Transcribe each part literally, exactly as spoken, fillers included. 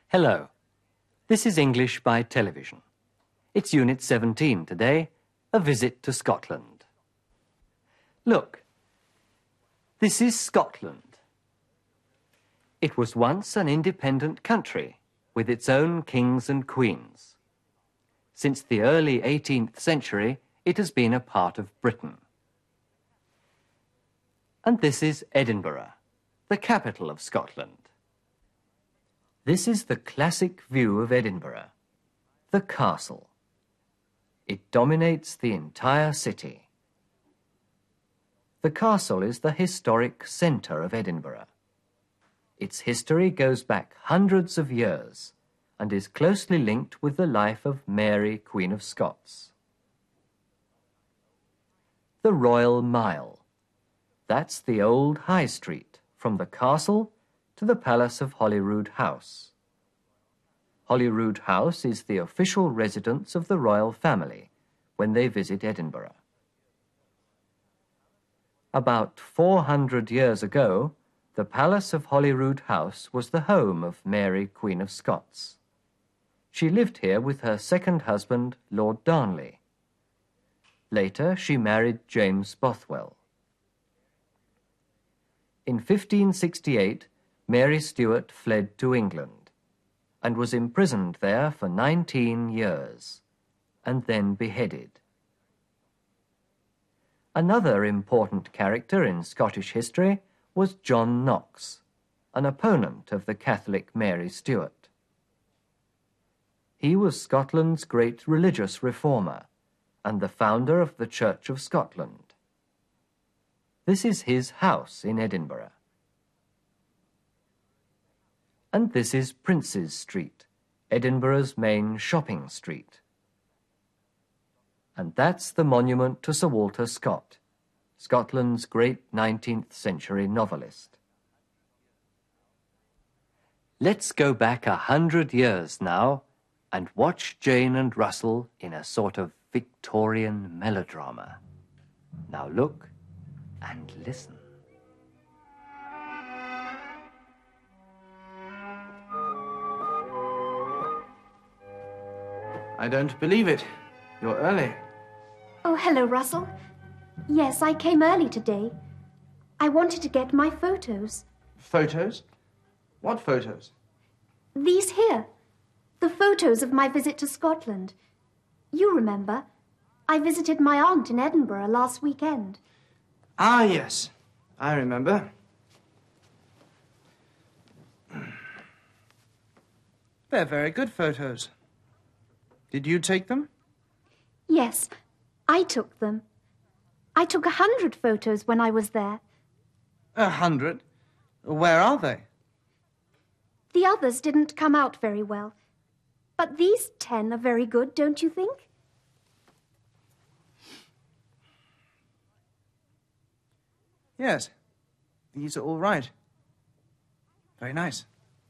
Hello. This is English by Television. It's Unit seventeen today, a visit to Scotland. Look, this is Scotland. It was once an independent country with its own kings and queens. Since the early eighteenth century, it has been a part of Britain. And this is Edinburgh, the capital of Scotland. This is the classic view of Edinburgh, the castle. It dominates the entire city. The castle is the historic centre of Edinburgh. Its history goes back hundreds of years and is closely linked with the life of Mary, Queen of Scots. The Royal Mile. That's the old High Street, from the castle to the Palace of Holyrood House. Holyrood House is the official residence of the royal family when they visit Edinburgh. About four hundred years ago, the Palace of Holyrood House was the home of Mary, Queen of Scots. She lived here with her second husband, Lord Darnley. Later, she married James Bothwell. In fifteen sixty-eight, Mary Stuart fled to England and was imprisoned there for nineteen years and then beheaded. Another important character in Scottish history was John Knox, an opponent of the Catholic Mary Stuart. He was Scotland's great religious reformer and the founder of the Church of Scotland. This is his house in Edinburgh. And this is Princes Street, Edinburgh's main shopping street. And that's the monument to Sir Walter Scott, Scotland's great nineteenth century novelist. Let's go back a hundred years now and watch Jane and Russell in a sort of Victorian melodrama. Now look and listen. I don't believe it. You're early. Oh, hello, Russell. Yes, I came early today. I wanted to get my photos. Photos? What photos? These here. The photos of my visit to Scotland. You remember, I visited my aunt in Edinburgh last weekend. Ah, yes. I remember. They're very good photos. Did you take them? Yes, I took them. I took a hundred photos when I was there. A hundred? Where are they? The others didn't come out very well. But these ten are very good, don't you think? Yes. These are all right. Very nice.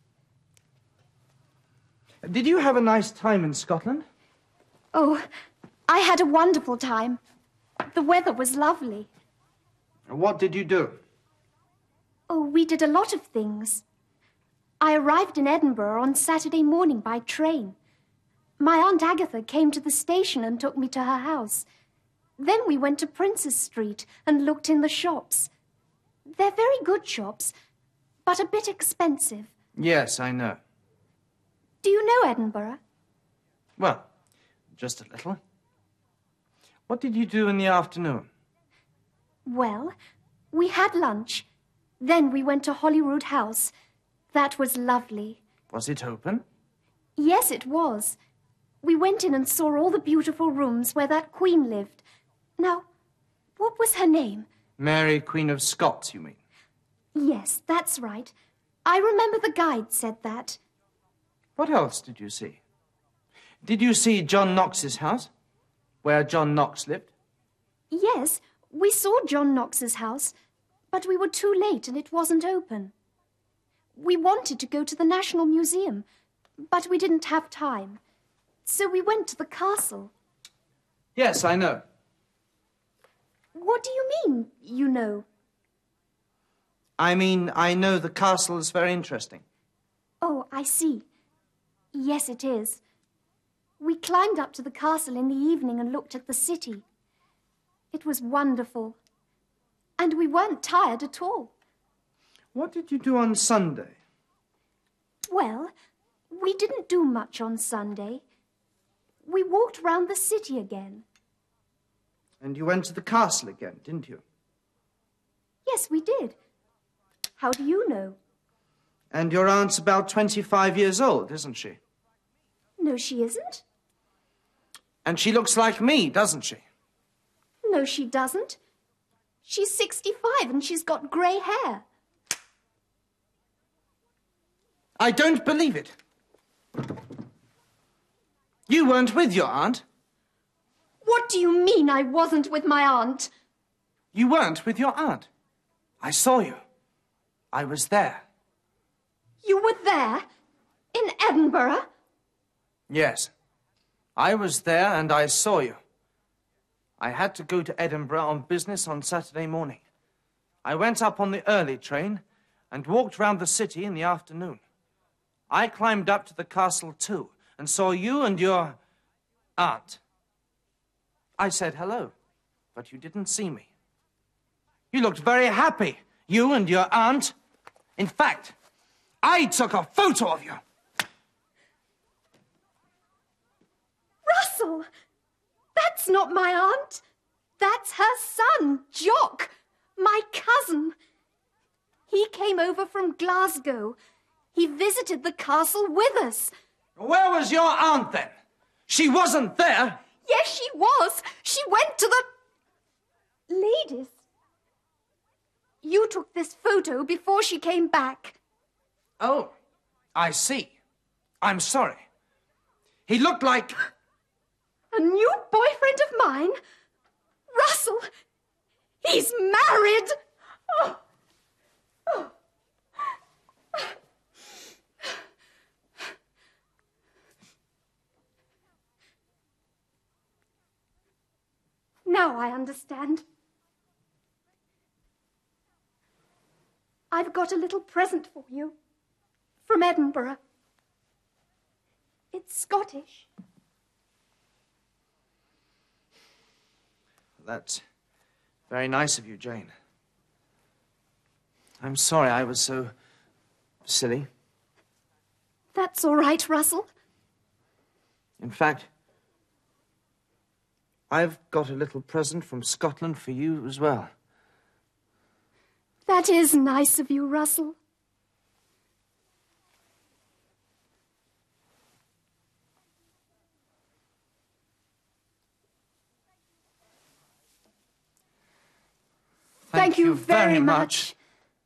Did you have a nice time in Scotland? Oh, I had a wonderful time. The weather was lovely. What did you do? Oh, we did a lot of things. I arrived in Edinburgh on Saturday morning by train. My Aunt Agatha came to the station and took me to her house. Then we went to Princes Street and looked in the shops. They're very good shops, but a bit expensive. Yes, I know. Do you know Edinburgh? Well, just a little. What did you do in the afternoon? Well, we had lunch. Then we went to Holyrood House. That was lovely. Was it open? Yes, it was. We went in and saw all the beautiful rooms where that queen lived. Now, what was her name? Mary, Queen of Scots, you mean? Yes, that's right. I remember the guide said that. What else did you see? Did you see John Knox's house, where John Knox lived? Yes, we saw John Knox's house, but we were too late and it wasn't open. We wanted to go to the National Museum, but we didn't have time. So we went to the castle. Yes, I know. What do you mean, you know? I mean, I know the castle is very interesting. Oh, I see. Yes, it is. We climbed up to the castle in the evening and looked at the city. It was wonderful. And we weren't tired at all. What did you do on Sunday? Well, we didn't do much on Sunday. We walked round the city again. And you went to the castle again, didn't you? Yes, we did. How do you know? And your aunt's about twenty-five years old, isn't she? No, she isn't. And she looks like me, doesn't she? No, she doesn't. She's sixty-five and she's got grey hair. I don't believe it. You weren't with your aunt. What do you mean I wasn't with my aunt? You weren't with your aunt. I saw you. I was there. You were there? In Edinburgh? Yes. I was there and I saw you. I had to go to Edinburgh on business on Saturday morning. I went up on the early train and walked round the city in the afternoon. I climbed up to the castle too and saw you and your aunt. I said hello, but you didn't see me. You looked very happy, you and your aunt. In fact, I took a photo of you. Russell! That's not my aunt. That's her son, Jock, my cousin. He came over from Glasgow. He visited the castle with us. Where was your aunt then? She wasn't there. Yes, she was. She went to the ladies. You took this photo before she came back. Oh, I see. I'm sorry. He looked like... A new boyfriend of mine? Russell, he's married. Oh. Oh. Now I understand. I've got a little present for you from Edinburgh. It's Scottish. That's very nice of you, Jane. I'm sorry I was so silly. That's all right, Russell. In fact, I've got a little present from Scotland for you as well. That is nice of you, Russell. Thank, Thank you very much.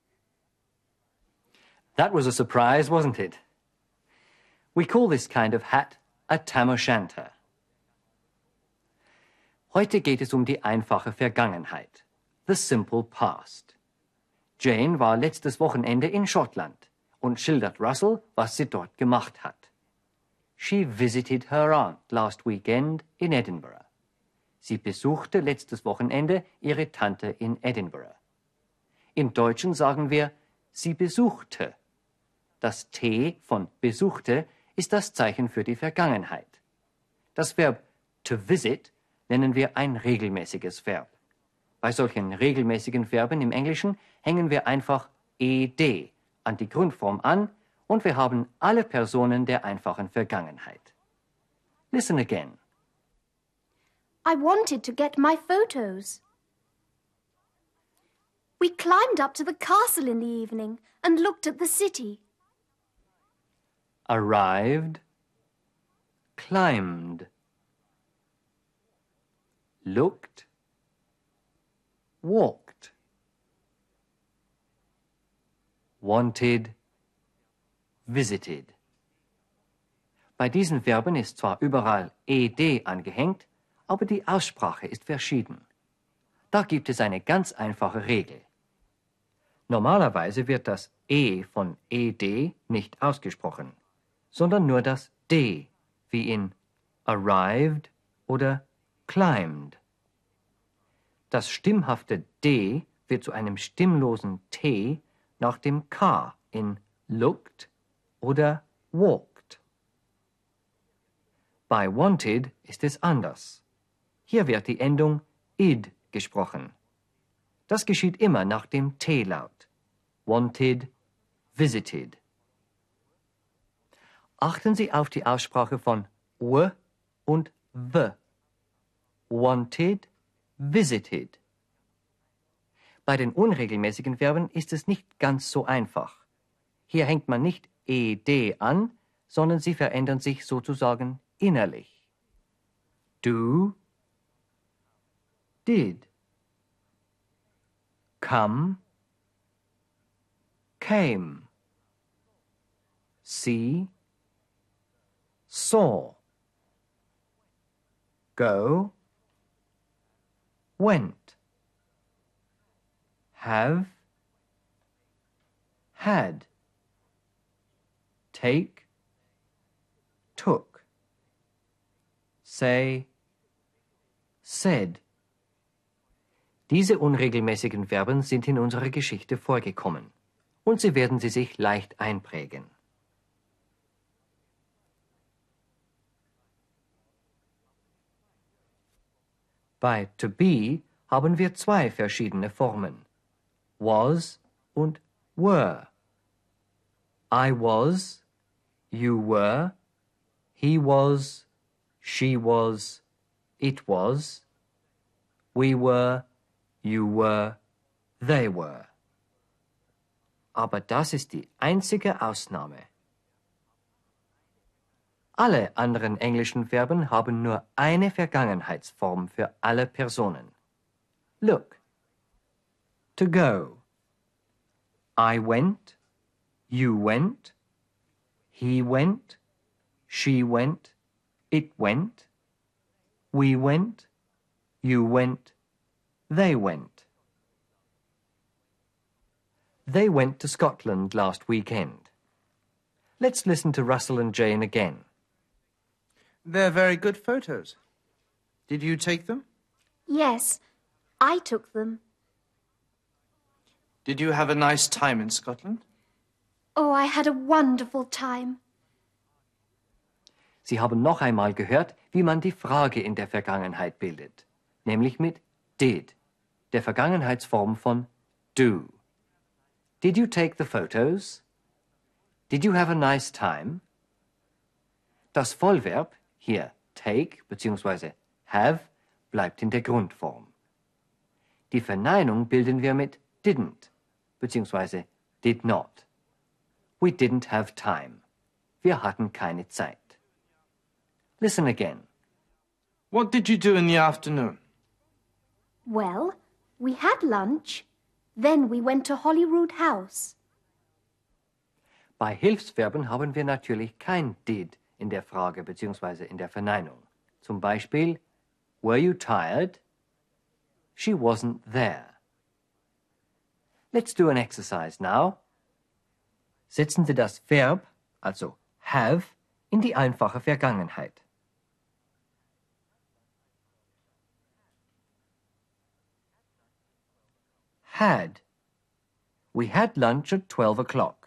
That was a surprise, wasn't it? We call this kind of hat a tam o' shanter. Heute geht es um die einfache Vergangenheit, the simple past. Jane war letztes Wochenende in Schottland und schildert Russell, was sie dort gemacht hat. She visited her aunt last weekend in Edinburgh. Sie besuchte letztes Wochenende ihre Tante in Edinburgh. Im Deutschen sagen wir, sie besuchte. Das T von besuchte ist das Zeichen für die Vergangenheit. Das Verb to visit nennen wir ein regelmäßiges Verb. Bei solchen regelmäßigen Verben im Englischen hängen wir einfach ed an die Grundform an und wir haben alle Personen der einfachen Vergangenheit. Listen again. I wanted to get my photos. We climbed up to the castle in the evening and looked at the city. Arrived, climbed, looked, walked, wanted, visited. Bei diesen Verben ist zwar überall ed angehängt, aber die Aussprache ist verschieden. Da gibt es eine ganz einfache Regel. Normalerweise wird das E von ed nicht ausgesprochen, sondern nur das D, wie in arrived oder climbed. Das stimmhafte D wird zu einem stimmlosen T nach dem K in looked oder walked. Bei wanted ist es anders. Hier wird die Endung id gesprochen. Das geschieht immer nach dem T-Laut. Wanted, visited. Achten Sie auf die Aussprache von w und w. Wanted, visited. Bei den unregelmäßigen Verben ist es nicht ganz so einfach. Hier hängt man nicht ed an, sondern sie verändern sich sozusagen innerlich. Do, did. Come, came. See, saw. Go, went. Have, had. Take, took. Say, said. Diese unregelmäßigen Verben sind in unserer Geschichte vorgekommen und sie werden Sie sich leicht einprägen. Bei to be haben wir zwei verschiedene Formen, was und were. I was, you were, he was, she was, it was, we were, you were, they were. Aber das ist die einzige Ausnahme. Alle anderen englischen Verben haben nur eine Vergangenheitsform für alle Personen. Look. To go. I went, you went, he went, she went, it went, we went, you went, they went. They went to Scotland last weekend. Let's listen to Russell and Jane again. They're very good photos. Did you take them? Yes, I took them. Did you have a nice time in Scotland? Oh, I had a wonderful time. Sie haben noch einmal gehört, wie man die Frage in der Vergangenheit bildet, nämlich mit did, der Vergangenheitsform von do. Did you take the photos? Did you have a nice time? Das Vollverb, hier take bzw. have, bleibt in der Grundform. Die Verneinung bilden wir mit didn't bzw. did not. We didn't have time. Wir hatten keine Zeit. Listen again. What did you do in the afternoon? Well, we had lunch. Then we went to Holyrood House. Bei Hilfsverben haben wir natürlich kein did in der Frage bzw. in der Verneinung. Zum Beispiel, were you tired? She wasn't there. Let's do an exercise now. Setzen Sie das Verb, also have, in die einfache Vergangenheit. Had. We had lunch at twelve o'clock.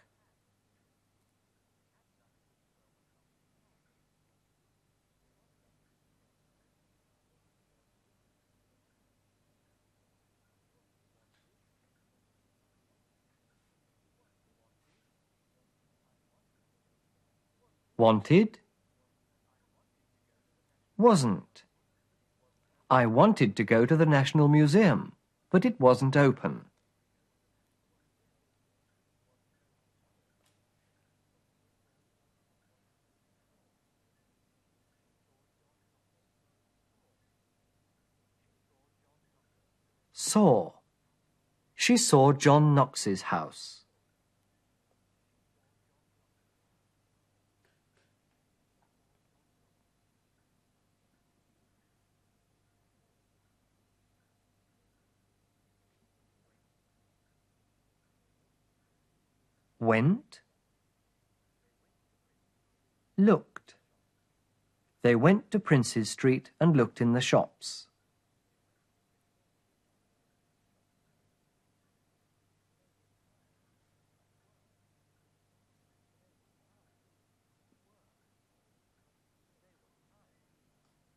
Wanted. Wasn't. I wanted to go to the National Museum, but it wasn't open. Saw. She saw John Knox's house. Went. Looked. They went to Princes Street and looked in the shops.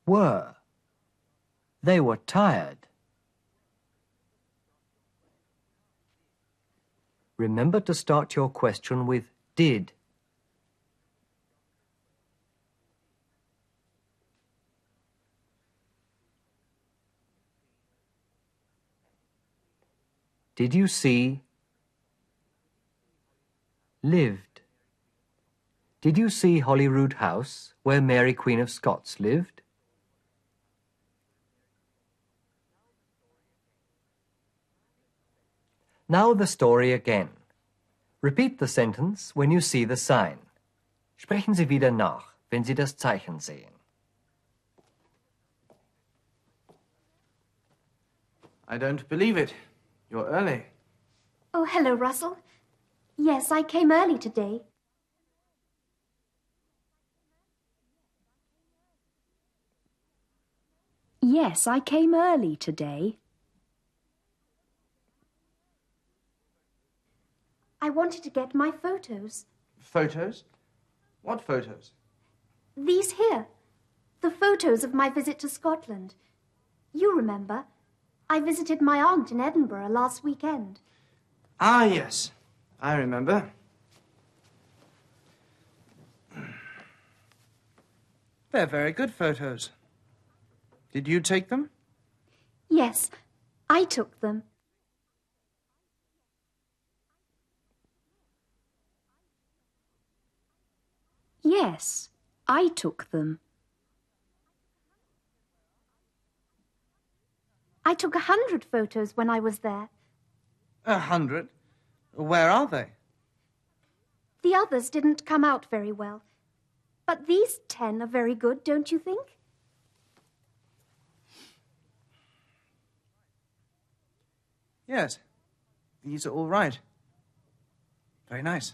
were. They were tired. Remember to start your question with did. Did you see? Lived. Did you see Holyrood House, where Mary Queen of Scots lived? Now the story again. Repeat the sentence when you see the sign. Sprechen Sie wieder nach, wenn Sie das Zeichen sehen. I don't believe it. You're early. Oh, hello, Russell. Yes, I came early today. Yes, I came early today. I wanted to get my photos. Photos? What photos? These here. The photos of my visit to Scotland. You remember, I visited my aunt in Edinburgh last weekend. Ah, yes. I remember. They're very good photos. Did you take them? Yes, I took them. Yes, I took them. I took a hundred photos when I was there. A hundred? Where are they? The others didn't come out very well. But these ten are very good, don't you think? Yes. These are all right. Very nice.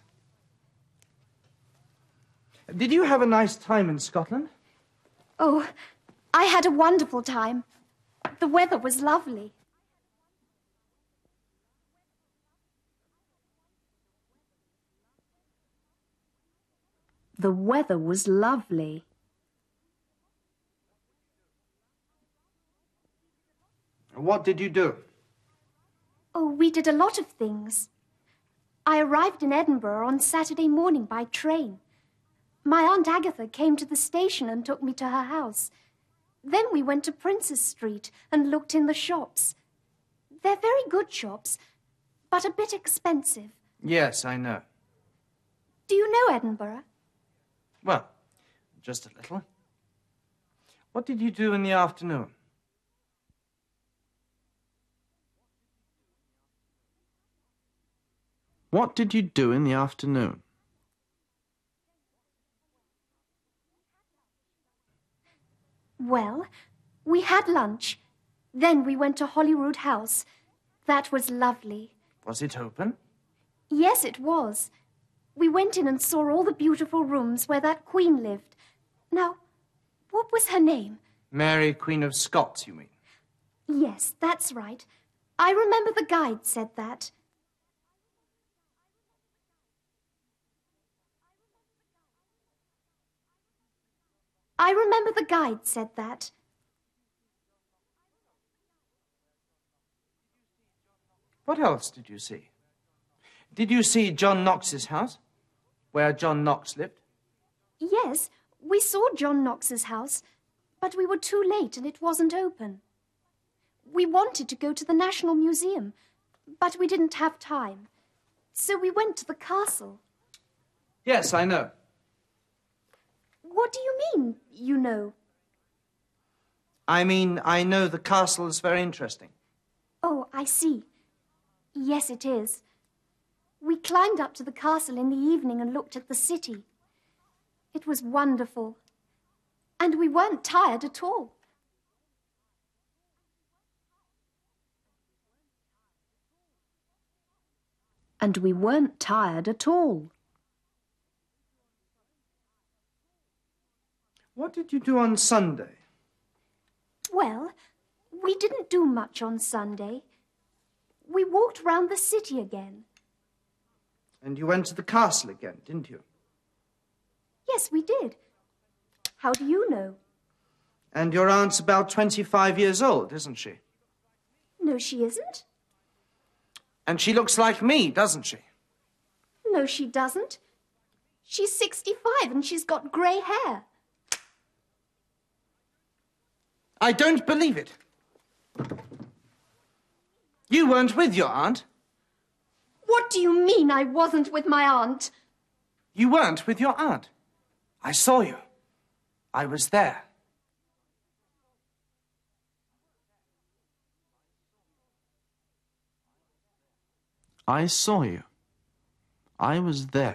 Did you have a nice time in Scotland? Oh, I had a wonderful time. The weather was lovely. The weather was lovely. What did you do? Oh, we did a lot of things. I arrived in Edinburgh on Saturday morning by train. My Aunt Agatha came to the station and took me to her house. Then we went to Princess Street and looked in the shops. They're very good shops, but a bit expensive. Yes, I know. Do you know Edinburgh? Well, just a little. What did you do in the afternoon? What did you do in the afternoon? Well, we had lunch. Then we went to Holyrood House. That was lovely. Was it open? Yes, it was. We went in and saw all the beautiful rooms where that queen lived. Now, what was her name? Mary, Queen of Scots, you mean? Yes, that's right. I remember the guide said that. I remember the guide said that. What else did you see? Did you see John Knox's house, where John Knox lived? Yes, we saw John Knox's house, but we were too late and it wasn't open. We wanted to go to the National Museum, but we didn't have time. So we went to the castle. Yes, I know. What do you mean, you know? I mean, I know the castle is very interesting. Oh, I see. Yes, it is. We climbed up to the castle in the evening and looked at the city. It was wonderful. And we weren't tired at all. And we weren't tired at all. What did you do on Sunday? Well, we didn't do much on Sunday. We walked round the city again. And you went to the castle again, didn't you? Yes, we did. How do you know? And your aunt's about twenty-five years old, isn't she? No, she isn't. And she looks like me, doesn't she? No, she doesn't. She's sixty-five and she's got grey hair. I don't believe it. You weren't with your aunt. What do you mean I wasn't with my aunt? You weren't with your aunt. I saw you. I was there. I saw you. I was there.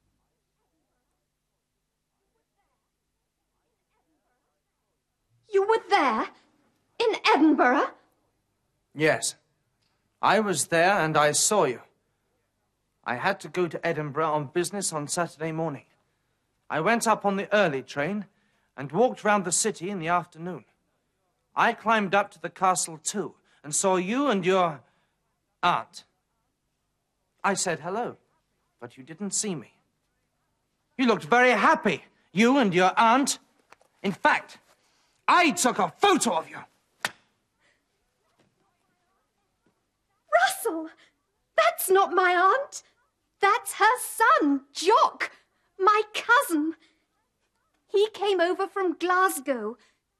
You were there? In Edinburgh? Yes. I was there and I saw you. I had to go to Edinburgh on business on Saturday morning. I went up on the early train and walked round the city in the afternoon. I climbed up to the castle too and saw you and your aunt. I said hello, but you didn't see me. You looked very happy, you and your aunt. In fact, I took a photo of you. Russell, that's not my aunt. That's her son, Jock, my cousin. He came over from Glasgow.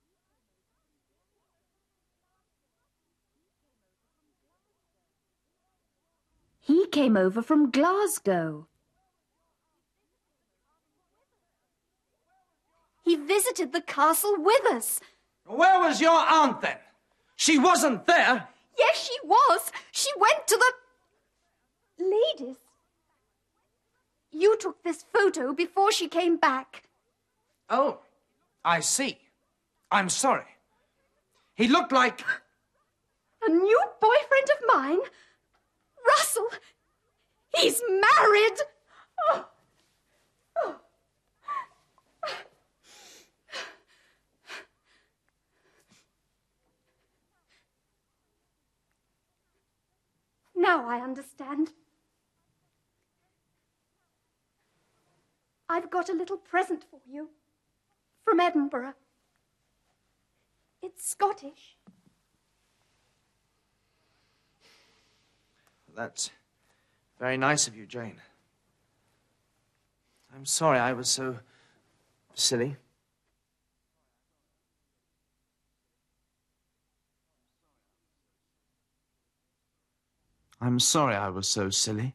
He came over from Glasgow. He visited the castle with us. Where was your aunt then? She wasn't there. Yes, she was. She went to the ladies. You took this photo before she came back. Oh, I see. I'm sorry. He looked like... A new boyfriend of mine? Russell, he's married. Oh. Oh. Now I understand. I've got a little present for you from Edinburgh. It's Scottish. That's very nice of you, Jane. I'm sorry I was so silly. I'm sorry I was so silly.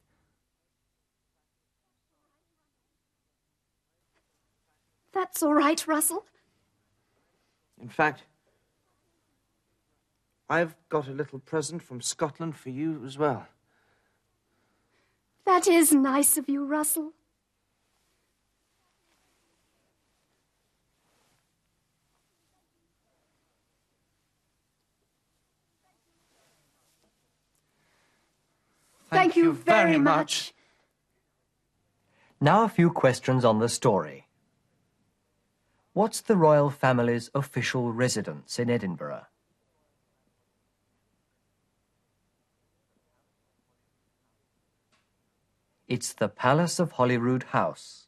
That's all right, Russell. In fact, I've got a little present from Scotland for you as well. That is nice of you, Russell. Thank, Thank you very much. Now a few questions on the story. What's the royal family's official residence in Edinburgh? It's the Palace of Holyrood House.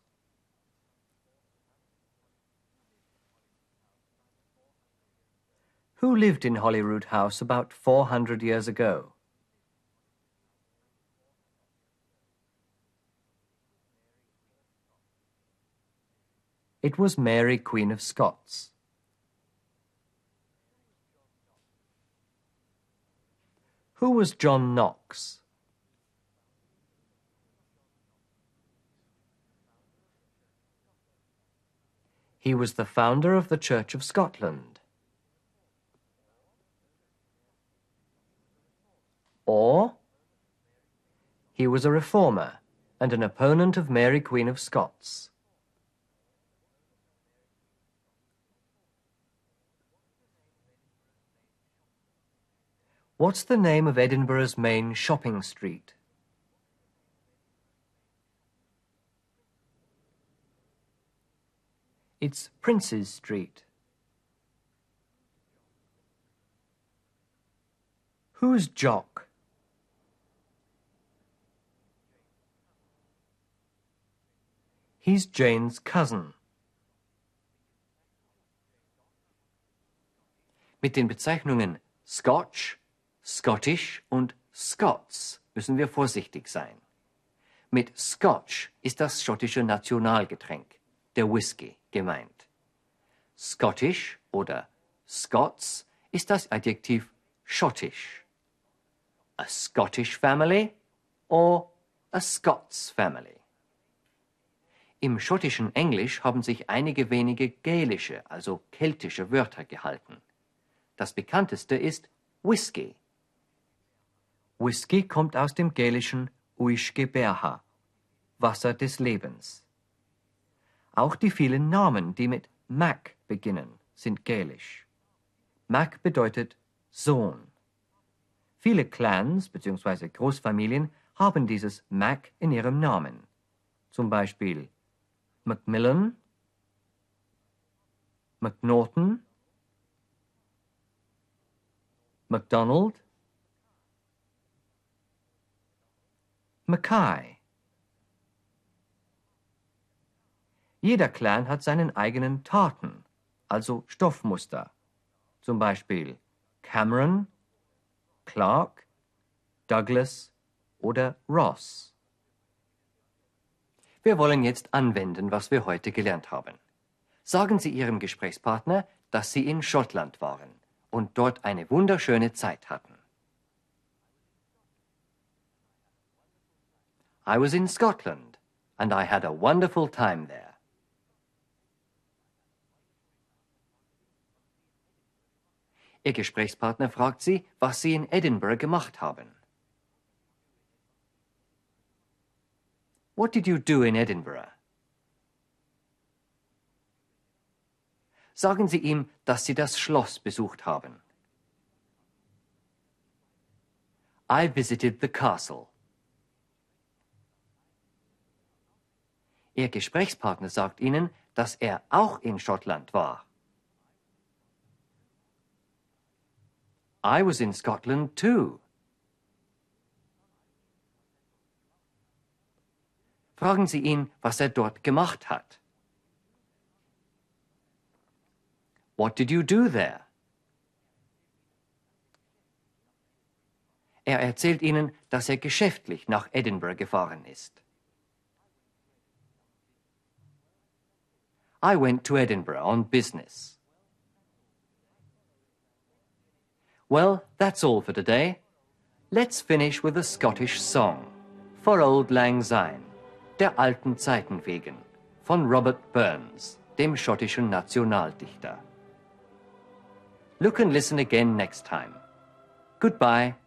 Who lived in Holyrood House about four hundred years ago? It was Mary, Queen of Scots. Who was John Knox? He was the founder of the Church of Scotland. Or he was a reformer and an opponent of Mary, Queen of Scots. What's the name of Edinburgh's main shopping street? It's Princes Street. Who's Jock? He's Jane's cousin. Mit den Bezeichnungen Scotch, Scottish und Scots müssen wir vorsichtig sein. Mit Scotch ist das schottische Nationalgetränk, der Whisky, gemeint. Scottish oder Scots ist das Adjektiv schottisch. A Scottish family or a Scots family. Im schottischen Englisch haben sich einige wenige gälische, also keltische Wörter gehalten. Das bekannteste ist Whisky. Whisky kommt aus dem gälischen Uisge Berha, Wasser des Lebens. Auch die vielen Namen, die mit Mac beginnen, sind gälisch. Mac bedeutet Sohn. Viele Clans bzw. Großfamilien haben dieses Mac in ihrem Namen. Zum Beispiel Macmillan, McNaughton, MacDonald, Mackay. Jeder Clan hat seinen eigenen Taten, also Stoffmuster. Zum Beispiel Cameron, Clark, Douglas oder Ross. Wir wollen jetzt anwenden, was wir heute gelernt haben. Sagen Sie Ihrem Gesprächspartner, dass Sie in Schottland waren und dort eine wunderschöne Zeit hatten. I was in Scotland and I had a wonderful time there. Ihr Gesprächspartner fragt Sie, was Sie in Edinburgh gemacht haben. What did you do in Edinburgh? Sagen Sie ihm, dass Sie das Schloss besucht haben. I visited the castle. Ihr Gesprächspartner sagt Ihnen, dass er auch in Schottland war. I was in Scotland too. Fragen Sie ihn, was er dort gemacht hat. What did you do there? Er erzählt Ihnen, dass er geschäftlich nach Edinburgh gefahren ist. I went to Edinburgh on business. Well, that's all for today. Let's finish with a Scottish song, For Auld Lang Syne, der alten Zeiten wegen, von Robert Burns, dem schottischen Nationaldichter. Look and listen again next time. Goodbye.